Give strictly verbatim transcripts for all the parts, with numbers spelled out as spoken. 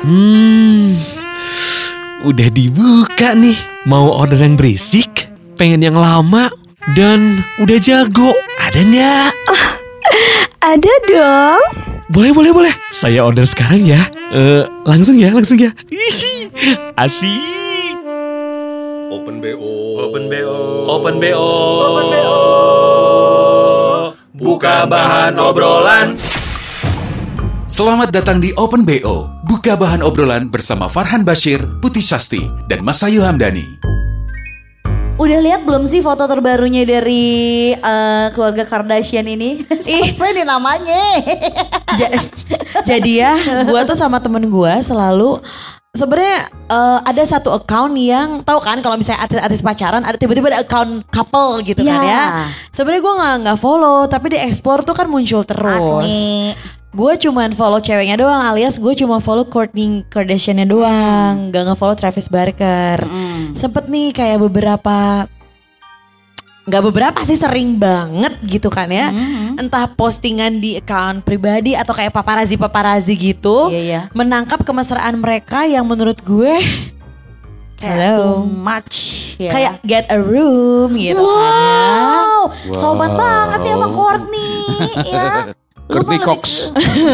Hmm, udah dibuka nih. Mau order yang berisik, pengen yang lama, dan udah jago. Ada nggak? Oh, ada dong. Boleh, boleh, boleh. Saya order sekarang ya. Uh, langsung ya, langsung ya. Ihi, asik. Open B O. Open B O. Open B O. Open B O. Buka bahan obrolan. Selamat datang di Open B O. Buka bahan obrolan bersama Farhan Bashir, Putih Sasti, dan Mas Ayu Hamdani. Udah lihat belum sih foto terbarunya dari uh, keluarga Kardashian ini? Ih, apa ini namanya? Ja- jadi ya, gue tuh sama temen gue selalu sebenarnya uh, ada satu account yang tahu kan kalau misalnya artis-artis pacaran ada tiba-tiba ada account couple gitu Ya. kan ya. Sebenarnya gue nggak nggak follow tapi di explore tuh kan muncul terus. Asli. Gue cuman follow ceweknya doang alias gue cuma follow Kourtney Kardashian-nya doang, gak nge-follow Travis Barker. Mm. Sempet nih kayak beberapa, gak beberapa sih sering banget gitu kan ya. Mm. Entah postingan di account pribadi atau kayak paparazi-paparazi gitu, Iya, iya. menangkap kemesraan mereka yang menurut gue Kayak Hello. too much ya. kayak get a room gitu kan ya. Wow, sobat banget ya sama Kourtney ya. Courtney Cox.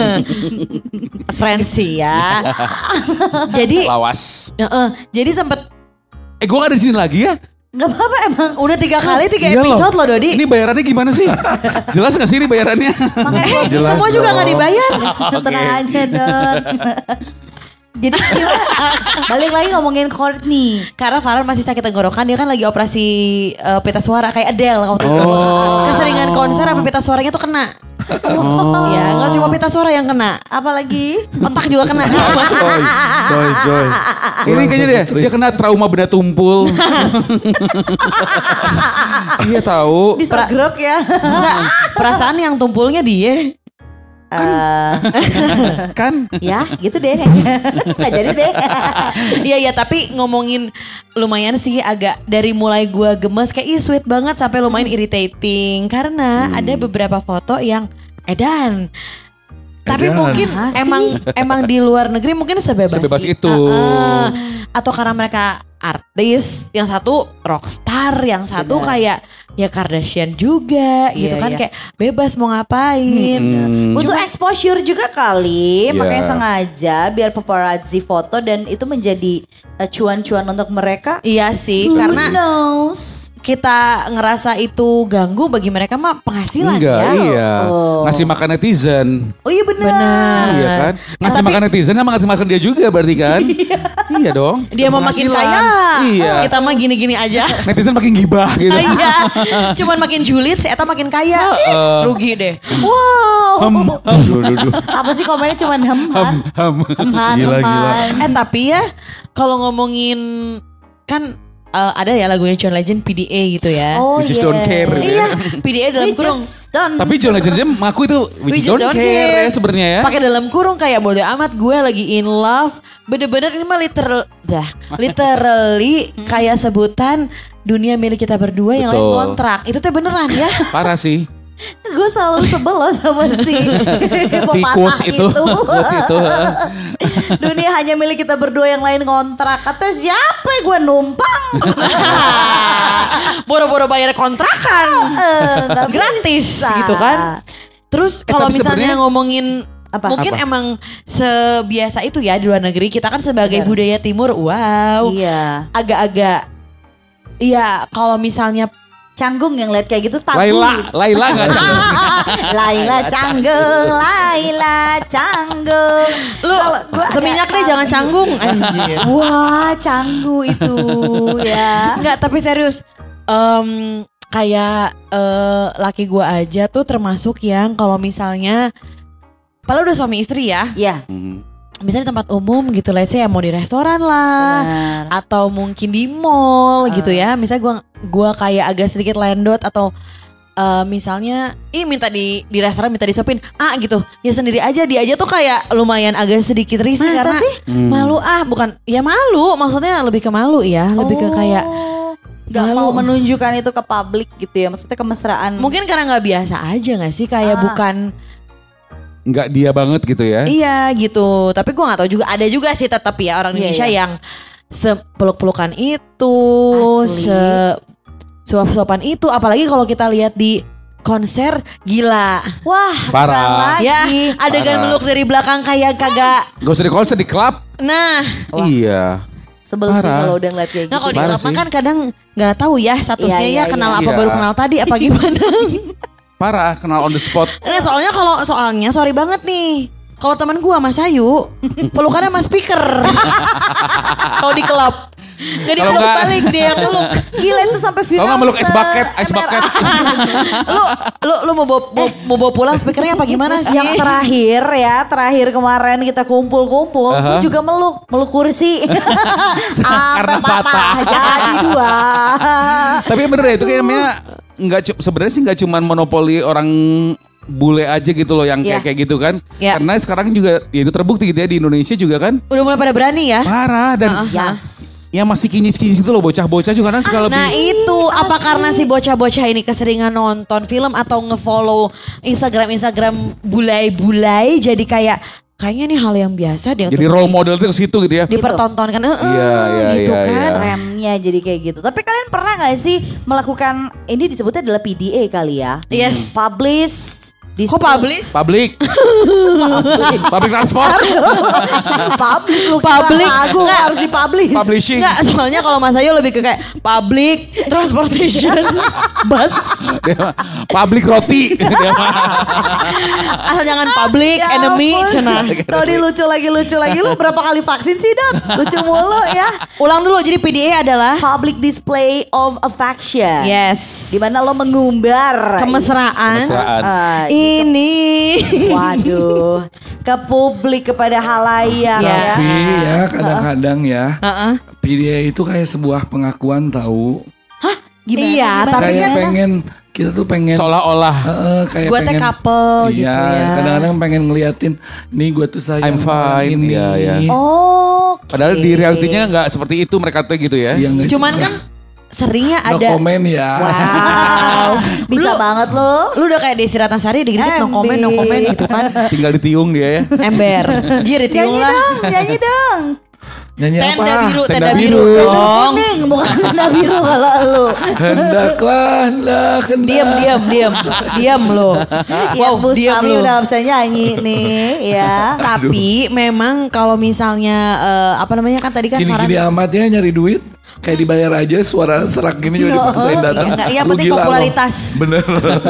Friends ya. Jadi Lawas. uh, jadi sempet Eh gue gak ada di sini lagi ya? Gak apa-apa emang. udah tiga kali tiga Iya episode loh Dodi. Ini bayarannya gimana sih? Jelas gak sih ini bayarannya? Makanya Eh, Kourtney semua juga nggak dibayar. tenang aja dong. Jadi gimana? Balik lagi ngomongin Kourtney. Karena Farhan masih sakit tenggorokan, dia kan lagi operasi uh, pita suara kayak Adele waktu itu. Oh. Keseringan konser apa pita suaranya tuh kena. Oh. Ya nggak cuma pita suara yang kena, Apalagi otak juga kena. Joy, joy, joy. Ini kayaknya dia, dia kena trauma benda tumpul. Iya tahu. disegrok ya. Enggak, perasaan yang tumpulnya dia. Eh, Kan? ya gitu deh kayaknya. Nggak jadi deh. Iya ya, tapi ngomongin lumayan sih agak dari mulai gua gemes kayak ih sweet banget sampai lumayan irritating karena ada beberapa foto yang edan. Tapi Edan. mungkin Asik. emang emang di luar negeri mungkin sebebas, Sebebas i- itu. Heeh. Atau karena mereka artis, yang satu rockstar, yang satu Benar. kayak ya Kardashian juga gitu Iya, kan iya. kayak bebas mau ngapain. Hmm. Untuk exposure juga kali, Iya. makanya sengaja biar paparazzi foto dan itu menjadi uh, cuan-cuan untuk mereka. Iya sih, Who karena knows? kita ngerasa itu ganggu bagi mereka mah penghasilan Enggak, ya. iya. Oh. Ngasih makan netizen. Oh iya benar. Benar. Iya kan? Ngasih tapi- makan netizen sama ngasih makan dia juga berarti kan? Iya dong. Dia mau makin Penghasilan. kaya, Iya. kita mah gini-gini aja. Netizen makin gibah gitu. Iya, cuman makin julid, si Eta makin kaya, Heeh. rugi deh. Wow. Hem, hem, duh, duh, duh. Apa sih komennya cuman hem Hem, han. hem. Hem han, Gila, hem gila. han. Eh tapi ya, kalau ngomongin kan eh, ada ya lagunya John Legend P D A gitu ya. Oh We just yeah. don't care. Iya, P D A dalam We kurung. just don't. Tapi John Legend aja mengaku itu we just don't, care, ya sebenarnya ya. Pakai dalam kurung kayak bodo amat gue lagi in love. Bener-bener ini mah literal, dah, literally kayak sebutan dunia milik kita berdua yang lain Betul. kontrak. Itu teh beneran ya. Parah sih. Gue selalu sebel loh sama si Si pepatah quotes itu. Quotes itu. Dunia hanya milik kita berdua yang lain ngontrak. Kata siapa gue numpang. Boro-boro bayar kontrakan. Eh, nggak Gratis bisa. gitu kan. Terus Eh, kalau tapi misalnya sebenarnya- ngomongin Apa? mungkin Apa? emang sebiasa itu ya di luar negeri. Kita kan sebagai Benar. budaya timur, wow, Iya. agak-agak, iya kalau misalnya Canggung yang lihat kayak gitu tabu. Laila, Laila enggak canggung. Laila canggung, Laila canggung. lu Kalau gua seminyak agak deh jangan tabu. canggung anjir. Wah, canggu itu ya. Enggak, tapi serius em, kayak eh, laki gua aja tuh termasuk yang kalau misalnya padahal udah suami istri ya, Ya, Hmm. misalnya di tempat umum gitu, let's say ya mau di restoran lah benar. atau mungkin di mall Uh. gitu ya. Misalnya gua gua kayak agak sedikit landot atau eh, misalnya ih minta di di restoran minta disuapin ah gitu. Ya sendiri aja, dia aja tuh kayak lumayan agak sedikit risih Masa karena sih? Hmm. malu ah, bukan ya malu, maksudnya lebih ke malu ya, lebih ke kayak Oh, nggak malu. mau menunjukkan itu ke publik gitu ya. Maksudnya kemesraan. mungkin karena nggak biasa aja nggak sih kayak Ah. bukan nggak dia banget gitu ya. Iya gitu. Tapi gue nggak tahu juga, ada juga sih tetap ya orang Iya, Indonesia iya. yang sepeluk-pelukan itu, Asli. se suap-suapan itu. Apalagi kalau kita lihat di konser, gila. Wah, Parah. kurang Ya, lagi. adegan Parah. meluk dari belakang kayak kagak. Gak usah di konser, di klub. Nah, Iya. Sebel sih Parah. kalau udah ngeliat kayak nah gitu. kalau di Parah klub sih. kan kadang nggak tahu ya statusnya Iya, ya iya, kenal iya. apa Iya. baru kenal tadi apa gimana. Parah, kenal on the spot. Nah soalnya kalau soalnya sorry banget nih. Kalau teman gua Mas Ayu pelukannya sama speaker. Kalau di klub nggak Kalau dipeluk nggak- balik dia yang peluk. Gila itu sampai final. Kalau nggak meluk ice bucket, ice se- bucket. lu lu lu mau bawa, mau, mau bawa pulang speakernya apa gimana sih? Yang terakhir ya, terakhir kemarin kita kumpul-kumpul, Aha. gue juga meluk, meluk kursi. Karena Sampai patah, patah. jadi dua. Tapi bener ya, itu kayak namanya nggak cu- sebenarnya sih nggak cuman monopoli orang bule aja gitu loh yang Iya. kayak kayak gitu kan. Iya. Karena sekarang juga ya itu terbukti gitu ya di Indonesia juga kan. Udah mulai pada berani ya? Parah dan Heeh. Yes. ya masih kinyis-kinyis itu loh bocah-bocah juga kan suka lebih. Nah itu apa karena si bocah-bocah ini keseringan nonton film atau ngefollow Instagram-Instagram bulai-bulai jadi kayak kayaknya nih hal yang biasa deh Jadi untuk role model tuh ke situ gitu ya. dipertontonkan. Heeh, Iya, iya, gitu iya, kan. iya. Remnya jadi kayak gitu. Tapi kalian pernah gak sih melakukan, ini disebutnya adalah P D A kali ya? Yes. Publish. Kok publish? Public. Public transport. Publish lu Public. lagu Nggak. harus dipublish. Publishing. Enggak, soalnya kalau Mas Ayu lebih ke kayak public transportation bus. Dia mah public roti. Dia mah. Asal jangan public Ya enemy ampun. cenah. Dodi lucu lagi lucu lagi. Lu berapa kali vaksin sih Dot? Lucu mulu ya. Ulang dulu, jadi P D A adalah Public display of affection. yes, Dimana lo mengumbar kemesraan. Kemesraan. Ah, Ini waduh, ke publik, kepada halayak Ya. ya. Tapi ya kadang-kadang ya Heeh. P D A itu kayak sebuah pengakuan tahu. Gimana, Iya, gimana, tapi Kayak gimana? pengen kita tuh pengen Seolah-olah Heeh, kayak gue teh pengen couple gitu Iya, ya. kadang-kadang pengen ngeliatin nih gue tuh sayang I'm sama fine, ini. iya, iya. Oh, padahal di realitinya nggak seperti itu mereka tuh gitu ya. Iya, nggak Cuman juga. kan seringnya no ada. comment ya. wow, bisa Lu- banget lo. Lu udah kayak Desi Ratnasari dikit-dikit no comment no comment gitu kan. Tinggal ditiung dia ya. Ember. Jir ditiung Nyanyi lah. dong, nyanyi dong. Nyanyi Tenda apa? biru, Tenda tenda biru biru. dong. Kuning, bukan tanda biru kalau lu. Hendaklah, hendak, hendak. Diam, diam, diam. Diam lo. Ya, Wow, Bu diam Sami lo. udah bisa nyanyi nih, ya. Tapi memang kalau misalnya eh, apa namanya kan tadi kan Gini-gini Farhan- amat ya nyari duit. Kayak dibayar aja suara serak gini juga Yo, dipaksain datang. iya, nggak, yang Lu penting gila lo. popularitas. Bener.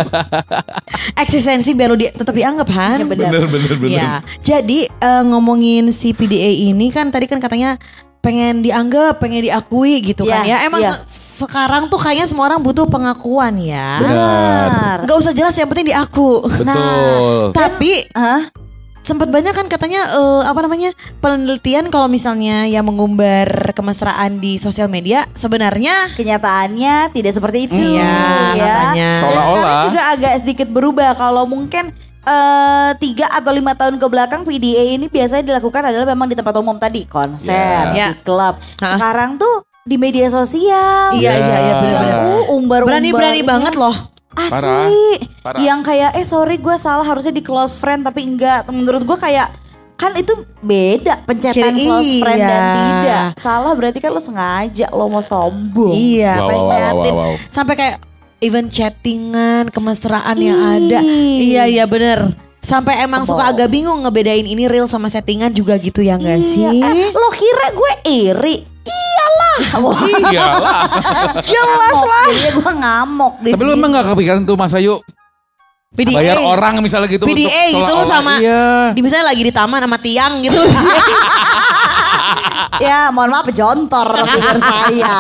eksistensi biar lu di, tetap dianggap Han. Ya, benar. Bener, bener, bener. Ya, jadi eh, ngomongin si P D A ini kan tadi kan katanya pengen dianggap, pengen diakui gitu kan Iya, ya. Emang iya. se- sekarang tuh kayaknya semua orang butuh pengakuan ya. Benar. Nggak usah jelas, yang penting diaku. Betul. Tapi Hah? sempat banyak kan katanya eh, apa namanya penelitian kalau misalnya yang mengumbar kemesraan di sosial media sebenarnya Kenyataannya tidak seperti itu. Iya, ya. makanya. Dan Seolah-olah. sekarang juga agak sedikit berubah. Kalau mungkin eh, tiga atau lima tahun ke belakang P D A ini biasanya dilakukan adalah memang di tempat umum tadi, konser, Ya. di klub. Hah? Sekarang tuh di media sosial. Iya, iya, iya, benar-benar. Uh, umbar-umbar. berani-berani banget loh. Asli. Parah. Parah. Yang kayak eh sorry gue salah, harusnya di close friend tapi enggak. Menurut gue kayak kan itu beda pencetan Kira- close friend dan iya. tidak. Salah berarti kan lo sengaja lo mau sombong. Iya, Wow, pengen wow, wow, ngeliatin. wow, wow. Sampai kayak even chattingan, kemesraan yang Ih. ada. Iya, iya bener. Sampai emang Sebel. suka agak bingung ngebedain ini real sama settingan juga gitu ya Iya, gak sih? eh, lo kira gue iri? Iyalah. Wah, Iyalah. jelas lah. Jadinya gue ngamuk di Tapi lu sini. emang gak kepikiran tuh Mas Ayu P D A. bayar orang misalnya gitu P D A untuk gitu lo seolah-olah- sama Iya. di misalnya lagi di taman sama tiang gitu. Ya mohon maaf jontor figur saya.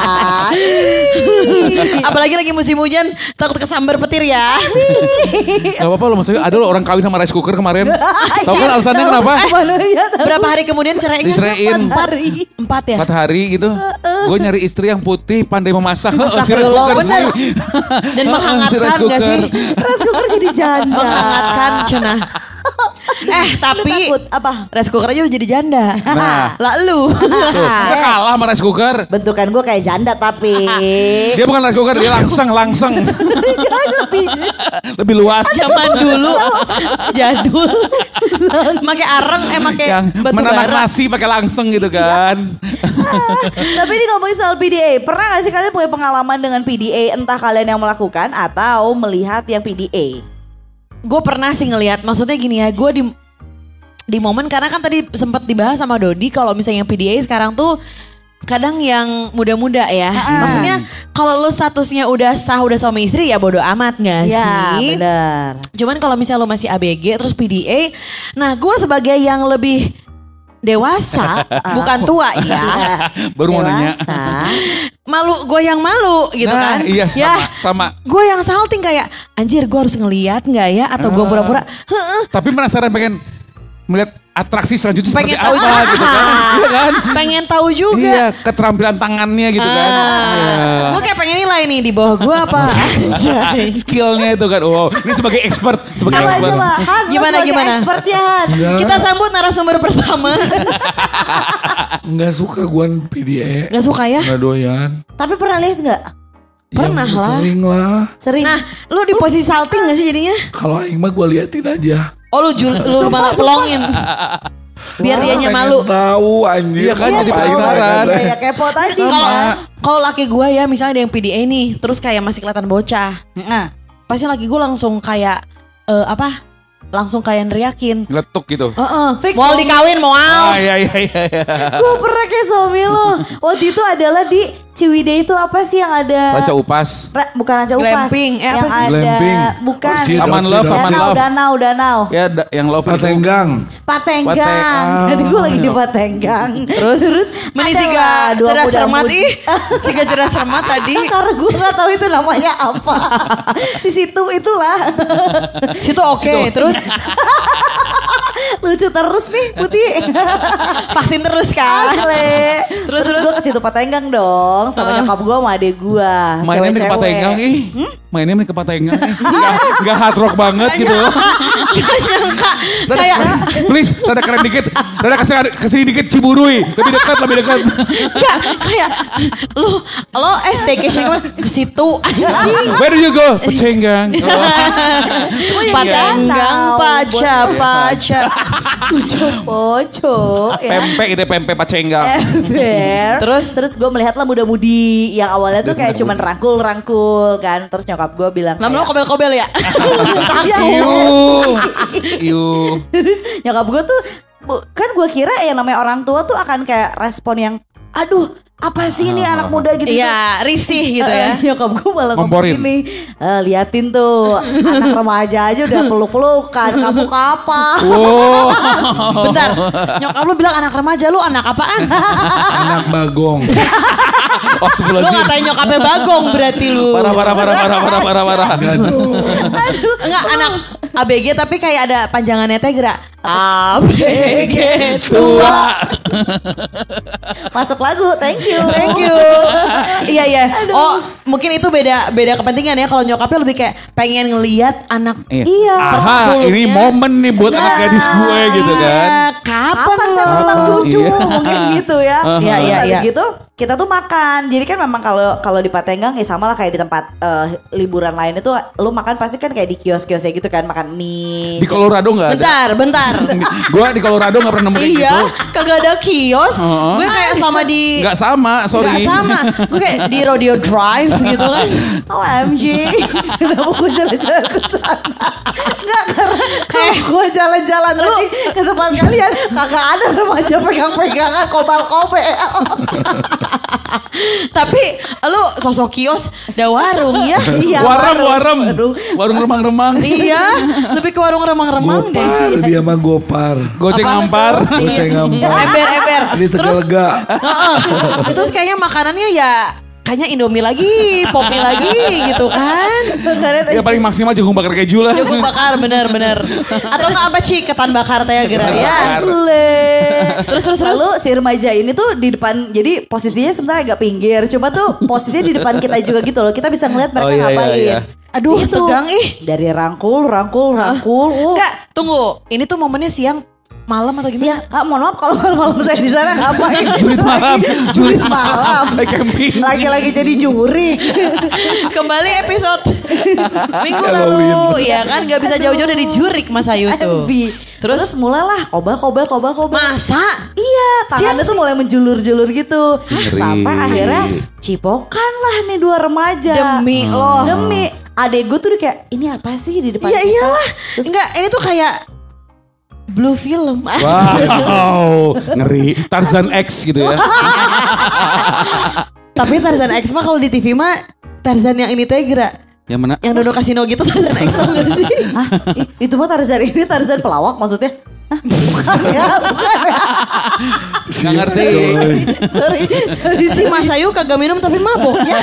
Apalagi lagi musim hujan takut kesambar petir ya. Gak apa-apa loh Mas Ayu. Ada loh orang kawin sama rice cooker kemarin. Tahu kan alasannya kenapa? Mana ya tahu. Berapa hari kemudian cerainya? Diceraiin Hari. Empat ya? empat hari gitu. Gue nyari istri yang putih, pandai memasak. Heeh, si rice Astagfirullah, cooker bener. sih. Dan Si menghangatkan rice gak sih? cooker. Rice cooker jadi janda. Menghangatkan cenah. Eh tapi takut apa? rice cooker aja udah jadi janda. Nah. Lalu. Masa kalah sama rice cooker? Bentukan gue kayak janda tapi Dia bukan rice cooker, dia langseng, langseng. lebih Lebih luas. Zaman dulu jadul. Pakai areng eh pakai Yang batu menanak bara. nasi pakai langseng gitu kan. Tapi ini ngomongin soal P D A, pernah gak sih kalian punya pengalaman dengan P D A, entah kalian yang melakukan atau melihat yang P D A? Gue pernah sih ngelihat, maksudnya gini ya, gue di di momen karena kan tadi sempat dibahas sama Dodi kalau misalnya P D A sekarang tuh kadang yang muda-muda ya. Maksudnya kalau lu statusnya udah sah, udah suami istri ya bodo amat gak Ya sih? benar. Cuman kalau misalnya lu masih A B G terus P D A, nah gue sebagai yang lebih dewasa, bukan tua ya. Baru mau nanya. Dewasa. Malu, gue yang malu gitu Nah, kan. iya sama, Ya, sama. gue yang salting kayak anjir gue harus ngeliat gak ya, atau gue Ah. pura-pura heeh. Tapi penasaran pengen melihat atraksi selanjutnya Pengen seperti tahu apa juga. gitu kan. Iya kan? Pengen tahu juga. Iya, keterampilan tangannya gitu kan. Iya. Gue kayak pengen nilai nih di bawah gue apa. Skillnya itu kan. Wow, ini sebagai expert, sebagai Coba expert. coba Han, lu Gimana, sebagai gimana? expertnya Han. Enggak, Kita sambut narasumber pertama. enggak suka gue P D A. Gak suka ya? Enggak doyan. Tapi pernah lihat nggak? Pernah Ya, lah. Sering lah. Sering. Nah, lu di posisi salting gak sih jadinya? Kalau aing mah gue liatin aja. Oh lu jul, lu malah pelongin. Biar dianya Pengen malu. tahu anjir. Iya kan, Iya, jadi tahu. penasaran. Kayak kepo tadi. Kalau kan. kalau laki gue ya misalnya ada yang P D A nih, terus kayak masih kelihatan bocah. Nah, Pasti laki gue langsung kayak eh, apa? Langsung kayak neriakin. Letuk gitu. Heeh. Fix Mau dong. dikawin mau. Ah iya iya iya. iya. gue pernah kayak suami lo. Waktu itu adalah di Ciwidey itu apa sih yang ada? Baca upas. Ra- bukan Raja Upas. Glamping, eh, apa yang sih? ada Glamping. bukan. Orchid, Aman orchid, love, orchid. aman Danau, love. danau, danau. Ya da- yang love itu. Patenggang. Patenggang. Pateng- Jadi gue lagi di Ah. Patenggang. Terus terus Meni ada siga lah dua cerdas muda cermat mudi. ih. Siga cerdas cermat tadi. Karena gue gak tahu itu namanya apa. Si situ itulah. Situ oke. Terus Lucu terus nih Putih. vaksin terus kan. Asli. Terus, Terus, terus. gue ke situ Patenggang dong sama Heeh. nyokap gue sama adek gue. Mainnya nih ke Patenggang ih. Mainnya nih ke Patenggang ih. Enggak enggak hard rock banget gitu. Gak nyangka. Rada- Kayak please, rada keren dikit. Rada kesini, kesini dikit Ciburui. Lebih dekat, lebih dekat. enggak kayak lu lo eh staycation kemana? Ke situ anjing. Where do you go? Patenggang. Oh. Patenggang paca paca. Poco ya. Pempek itu pempek Patenggang. Ember. Terus? terus gue melihat lah muda-mudi yang awalnya tuh kayak cuman rangkul-rangkul kan. Terus nyokap gue bilang Lama-lama kayak, kobel-kobel ya. "Iya, Iu. Iu. Terus nyokap gue tuh bu- kan gue kira yang namanya orang tua tuh akan kayak respon yang aduh apa sih ini anak muda gitu. Iya, risih gitu ya. Eh, nyokap gue malah ngomong Ngomporin. gini, "Eh, liatin tuh anak remaja aja udah peluk-pelukan, kamu kapan?" Wow. Bentar, nyokap lu bilang anak remaja, lu anak apaan? Anak bagong. Oh sebelum Lu ngatain nyokapnya bagong berarti lu. Parah, parah, parah, parah, parah, parah, parah. Enggak anak A B G tapi kayak ada panjangannya teh gerak A B G tua. Masuk lagu, thank you. Thank you. Iya iya. Oh mungkin itu beda beda kepentingan ya. Kalau nyokapnya lebih kayak pengen ngelihat anak. Iya. Aha, ini momen nih buat anak gadis gue gitu kan. Iya, kapan, Kapan lo? saya tentang cucu Iya. mungkin gitu ya. Aha. Iya, Terus iya, habis iya. gitu kita tuh makan. Jadi kan memang kalau kalau di Patenggang ya sama lah kayak di tempat eh, liburan lain itu lu makan pasti kan kayak di kios-kiosnya gitu kan, makan mie. Di Colorado nggak ada. Bentar, bentar. Gue di Colorado nggak pernah nemu kayak Iya, gitu. kagak ada kios. Heeh. Gue kayak selama di Nggak sama, sorry. Nggak sama. Gue kayak di Rodeo Drive gitu kan. O M G. Kenapa gue jalan-jalan ke sana? Enggak, karena kalau gue jalan-jalan lagi ke tempat kalian kagak ada remaja pegang-pegangan kobal-kobel. Tapi lu sosok kios ada warung ya. Iya, Warem, warung, warem. warung. Warung remang-remang. Iya, lebih ke warung remang-remang deh. Gopar, dia mah gopar. Goceng Apa? ngampar. Goceng ngampar. Ember, ember. Di Terus, Tegalega. Heeh. Terus kayaknya makanannya ya kayaknya Indomie lagi, Popmi lagi gitu kan. Ya paling maksimal jagung bakar keju lah. Jagung bakar bener-bener. Atau nggak apa Ci, ketan bakar teh gerak ya. Asli. Terus terus terus. Lalu si remaja ini tuh di depan, jadi posisinya sebenarnya agak pinggir. Cuma tuh posisinya di depan kita juga gitu loh. Kita bisa ngeliat mereka Oh, iya, iya, ngapain. iya. Aduh, Itu. tegang ih. Dari rangkul, rangkul, rangkul. Uh. Enggak, tunggu. Ini tuh momennya siang, malam atau gimana? Siang, ah, mohon maaf kalau malam-malam saya di sana ngapain? Jurit malam, Jurit malam. Lagi camping. Lagi-lagi jadi juri. Kembali episode minggu lalu. Ya kan gak bisa jauh-jauh dari jurik Mas Ayu tuh. Terus, Terus Terus mulailah kobal, kobal, kobal, kobal. masa? Iya, tangannya Siapa tuh mulai menjulur-julur gitu. Ngeri. Sampai akhirnya cipokan lah nih dua remaja. Demi lo. Demi. Adek gue tuh udah kayak, ini apa sih di depan Iya kita? iyalah. Terus Enggak, ini tuh kayak Blue film. Wow, ngeri. Tarzan X gitu ya. Tapi Tarzan X mah kalau di T V mah Tarzan yang ini teh gerak. Yang mana? Yang Dodo Kasino gitu Tarzan X tau gak sih? Hah? I- itu mah Tarzan ini Tarzan pelawak maksudnya? Hah? Bukan ya, bukan ya. Nggak ngerti. Sorry, sorry. Si Mas Ayu kagak minum tapi mabok ya.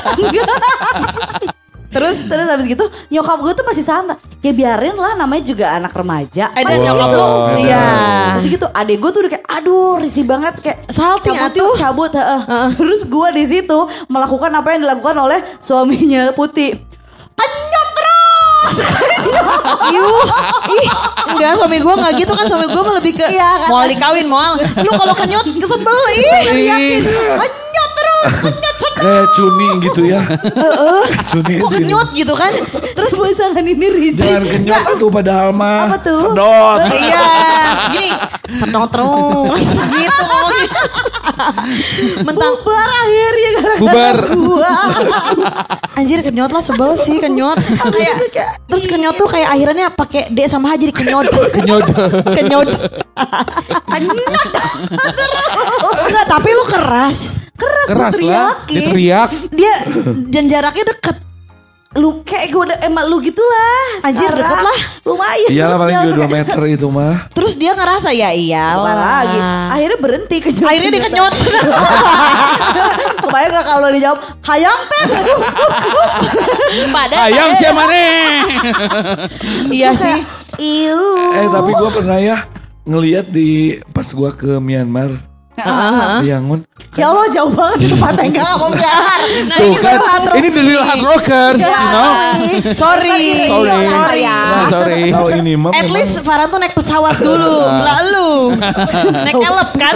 Terus terus habis gitu nyokap gue tuh masih santai. Ya biarin lah, namanya juga anak remaja. Eh dan Wow. nyokap lu iya. Masih gitu adek gue tuh udah kayak aduh risih banget kayak Salting cabut atuh. yuk, cabut heeh. Terus gue di situ melakukan apa yang dilakukan oleh suaminya Putih. Kenyot terus. Yuh, ih, enggak suami gue nggak gitu kan, suami gue mah lebih ke Iya, kan? mau dikawin mau. Lu kalau kenyot kesebel ih. Yakin. Kenyot terus, kenyot sedot. Kayak cuni gitu ya. Cuni Kok sini. kenyot gitu kan? Terus pasangan ini risih. Jangan kenyot tuh padahal mah. Apa tuh? Sedot. Iya, gini, sedot terus gitu. Mentang Bubar akhirnya gara-gara Bubar. gua. anjir kenyot lah, sebel sih kenyot. Kayak terus kenyot tuh kayak akhirannya pakai D sama H jadi kenyot. Kenyot. Kenyot. Kenyot. Enggak, tapi lu keras. Keras, Keras gua lah. teriakin. Dia teriak. Dia dan jaraknya deket. Lu kayak gue udah emang lu gitulah. Anjir, Sekarang. deket lah. Lumayan. Iyalah Terus paling dia juga langsung dua kayak, meter itu mah. Terus dia ngerasa ya iyalah. Bukan lagi. Akhirnya berhenti kenyot. Akhirnya dia kenyot. Kebayang gak kalau dijawab hayang teh. Padahal Ayang siapa nih? iya sih. Iu. Eh tapi gue pernah ya ngelihat di pas gue ke Myanmar. Heeh. Yangon. Ya Allah jauh banget itu Patenggang sama Myanmar. Nah, Tuh ini kan, baru hard rock. ini dari hard rockers, you know. Sorry. Sorry. Sorry. Nah, sorry. Tahu ini mah At memang- least Farhan tuh naik pesawat dulu. Lah lu. Naik elep kan?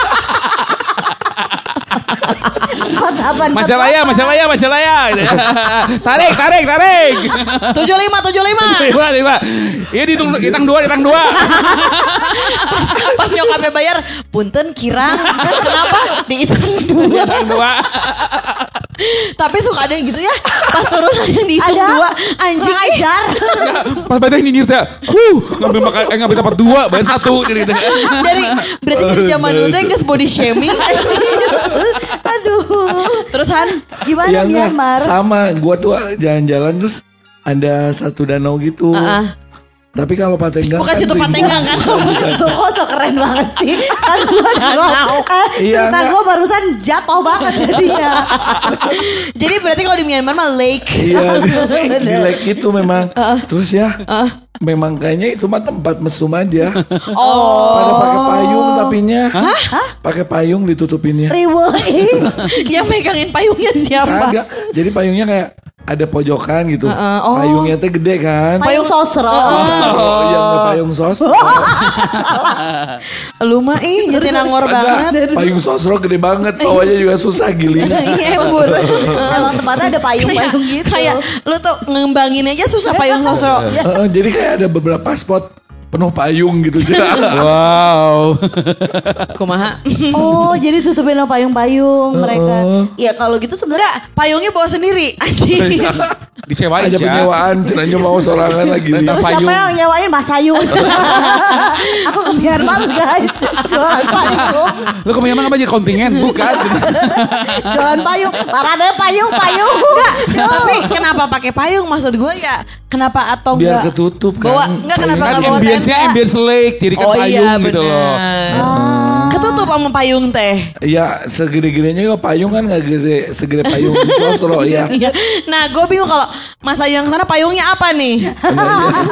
Apaan? Majalaya, Majalaya, Majalaya. Gitu ya. Tarik, tarik, tarik. tujuh lima tujuh lima. Lima, lima. Iya dihitung, hitung dua, hitung dua. Pas, pas nyokapnya bayar, punten kirang. Kenapa? Dihitung dua. Hitung dua. Tapi suka ada yang gitu ya. Pas turun ada yang dihitung Ada. dua. Anjing ih. Ajar. Pas badai nyinyir teh. Huh, ngambil makan, eh, ngambil dapat dua, bayar satu jadi gitu. Dari berarti dari zaman dulu tuh nggak body shaming. Aduh. Terus Han, Gimana Ya enggak, Myanmar? sama gua tuh jalan-jalan terus ada satu danau gitu. Heeh. Tapi kalau Patenggang bukan situ rimbun. Patenggang kan? Lu kok so keren banget sih. Kan gua Danau. eh, Iya, cerita enggak. gua barusan jatuh banget jadinya. Jadi berarti kalau di Myanmar mah lake. Iya di, di lake itu memang. Terus ya memang kayaknya itu mah tempat mesum aja. Oh. Pada pakai payung tapinya. Pakai payung ditutupinnya. Riweuing. Yang megangin payungnya siapa? Kagak. Jadi payungnya kayak ada pojokan gitu. Heeh, oh. Payungnya teh gede kan. Payung sosro. Oh, yang nggak payung sosro. Lu mah ih jadi nangor banget. Kagak, payung sosro gede banget. Bawahnya juga susah giling. Iya embur. Emang tempatnya ada payung-payung gitu. Kayak lu tuh ngembangin aja susah payung sosro. Heeh, jadi kayak ada beberapa spot penuh payung gitu. Wow. Kumaha? Oh, jadi tutupin sama payung-payung mereka. Ya kalau gitu sebenarnya Enggak, payungnya bawa sendiri. Anjing. Disewain Ada aja. penyewaan, cenanya mau sorangan lagi. Rental terus payung. siapa yang nyewain Mas Ayu? Aku ke Myanmar guys. Jualan payung. Lu kemana apa aja kontingen? Bukan. Jualan payung. Parade payung, payung. Tapi kenapa pakai payung maksud gue ya? Kenapa atau Biar enggak? ketutup kan. Bawa enggak kenapa Kan enggak bawa ambience-nya tenda? ambience lake, jadi kan Oh payung iya gitu loh. benar. Ketutup sama payung teh. Ya segede-gedenya juga payung kan nggak gede segede payung di sosro ya. Iya. Nah, gue bingung kalau Mas Ayu yang sana payungnya apa nih?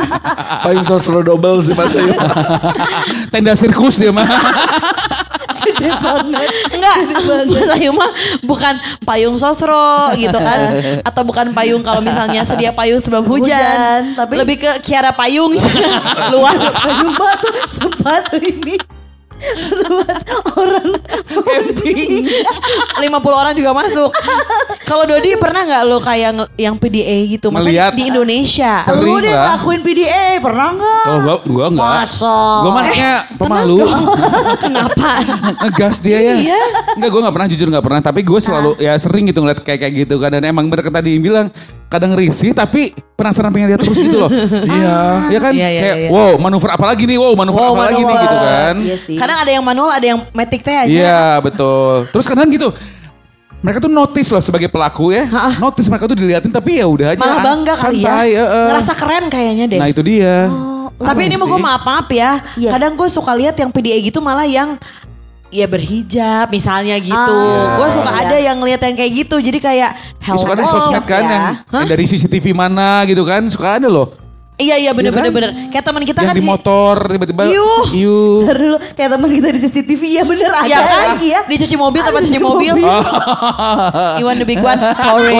Payung sosro double sih Mas Ayu. Tenda sirkus dia mah. Gede banget. Enggak, Mas Ayu mah bukan payung sosro gitu kan. Atau bukan payung kalau misalnya sedia payung sebab hujan. Hujan, tapi- Lebih ke Kiara Payung. Luas. Payung batu tempat ini. Tempat orang camping. lima puluh orang juga masuk. Kalau Dodi pernah nggak lo kayak nge- yang P D A gitu? Maksudnya Ngeliat. di Indonesia. Sering Lu deh lah. ngelakuin P D A pernah nggak? Kalau gua gua enggak. Masa? Gua mah anaknya pemalu. Kenapa? Ngegas dia ya. Iya. Enggak, gue gak pernah, jujur gak pernah. Tapi gue selalu ya sering gitu ngeliat kayak kayak gitu kan. Dan emang bener kata dia bilang, kadang risih tapi penasaran pengen lihat terus gitu loh. Iya. Ya kan Iya, iya, kayak iya. wow manuver apa lagi nih, wow manuver Wow, apa lagi nih manuver. gitu kan. Iya sih. Kadang ada yang manual, ada yang matic teh aja. Iya betul. Terus kadang gitu. Mereka tuh notice loh sebagai pelaku ya. Ha-ha. Notice mereka tuh diliatin tapi ya udah aja. Malah bangga kali ya. santai, eh, eh. Ngerasa keren kayaknya deh. Nah itu dia. Tapi ini mau gue maaf-maaf ya. Iya. Kadang gue suka lihat yang P D A gitu malah yang ya berhijab misalnya gitu. Ah, Gue suka iya. ada yang ngeliat yang kayak gitu. Jadi kayak Ya, suka ada hello. sosmed kan ya. yang, yang dari C C T V mana gitu kan. Suka ada loh. Iya iya bener Iya kan? bener bener. Kayak teman kita yang kan di si- motor tiba-tiba. Yuh. Yuh. Ntar dulu kayak teman kita di C C T V ya bener ada Iya kan? lagi ya. Dicuci mobil tanpa Ada cuci cuci mobil. mobil. You want the big one? Sorry.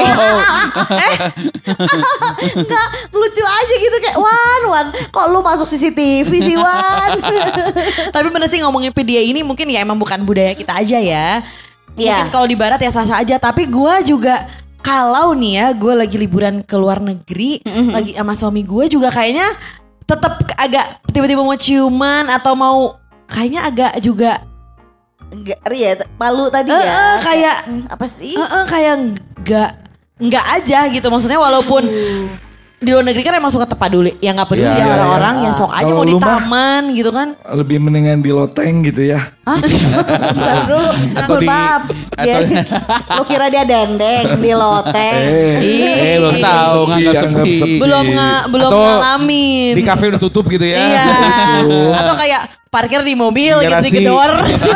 Enggak lucu aja gitu kayak Wan Wan kok lu masuk C C T V sih Wan. Tapi bener sih ngomongin P D A ini mungkin ya emang bukan budaya kita aja ya. Mungkin Iya. kalau di barat ya sah-sah aja. Tapi gue juga kalau nih ya gue lagi liburan ke luar negeri, lagi sama suami gue juga kayaknya tetap agak tiba-tiba mau ciuman atau mau kayaknya agak juga Enggak ya malu tadi Eh, ya. eh, kayak hmm, apa sih? eh, eh, kayak nggak nggak aja gitu. Maksudnya walaupun di luar negeri kan emang suka tepat dulu ya nggak peduli Iya, ya iya, orang-orang iya. yang sok aja Kalau mau di lu mah- taman gitu kan. Lebih mendingan di loteng gitu ya. Bentar dulu. Atau di- Maaf. Dia, lu kira dia dendeng di loteng. Eh belum tahu Sepi, nganggap anggap sepi. sepi. Belum nggak belum Atau ngalamin. Di kafe udah tutup gitu ya. Iya. Atau kayak parkir di mobil gitu Garasi. digedor.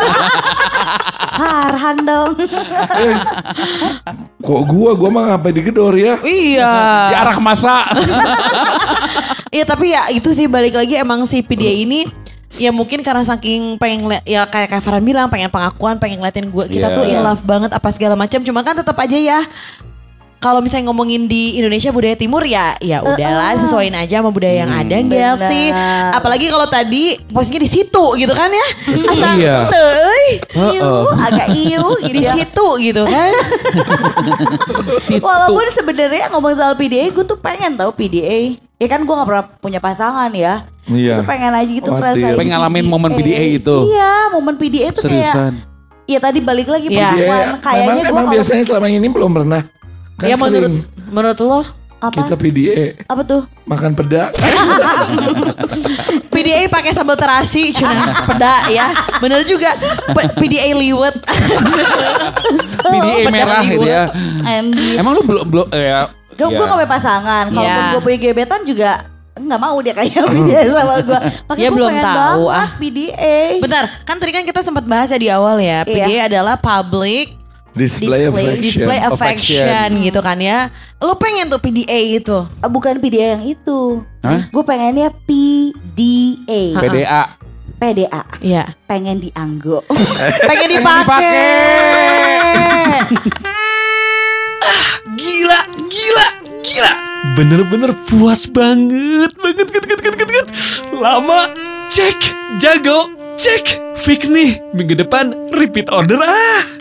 Harhan dong. Kok gua, gua mah ngapain digedor ya? Iya. Di arah masa. Iya tapi ya itu sih balik lagi emang si P D A ini ya mungkin karena saking pengen ngeliat, ya kayak kayak Farhan bilang pengen pengakuan, pengen ngeliatin gue kita Iya. tuh in love banget apa segala macam. Cuma kan tetap aja ya kalau misalnya ngomongin di Indonesia budaya timur ya ya udahlah sesuaiin aja sama budaya yang ada enggak benar. sih. Apalagi kalau tadi posisinya di situ gitu kan ya. Asal Iya. teuy, Iu, agak iu gitu di ya. situ gitu kan. Walaupun sebenarnya ngomong soal P D A, gue tuh pengen tahu P D A. Ya kan gue gak pernah punya pasangan ya. Iya. Gue pengen aja gitu Khawatir. ngerasain Pengen ngalamin momen P D A itu. Iya, momen P D A itu kayak. Seriusan. Iya tadi balik lagi Iya. perempuan. Iya, Kayaknya memang, gue emang kalau biasanya selama ini belum pernah. Kan Ya menurut sering menurut lo apa? kita P D A Apa tuh? makan peda. P D A pakai sambal terasi cuna peda ya. Bener juga. P- P D A liwet. P D A merah gitu ya. Anjir. Emang lu belum belum eh, ya. Gue gue ya. gak punya pasangan. Kalaupun Iya. gue punya gebetan juga nggak mau dia kayak P D A sama gue. Makanya Ya, gue belum pengen tahu, banget ah. P D A. Bentar, kan tadi kan kita sempat bahas ya di awal ya. P D A Iya. adalah public Display, Display. affection. display affection, Affection. gitu kan ya. Lu pengen tuh P D A itu. Ah, bukan P D A yang itu. Hah? Gue pengennya P D A. P D A. P D A. Iya. Pengen dianggo. Pengen dipakai. Gila, gila, gila. Bener-bener puas banget, banget, banget, banget, banget, banget. Lama, cek, jago, cek. Fix nih, minggu depan repeat order ah.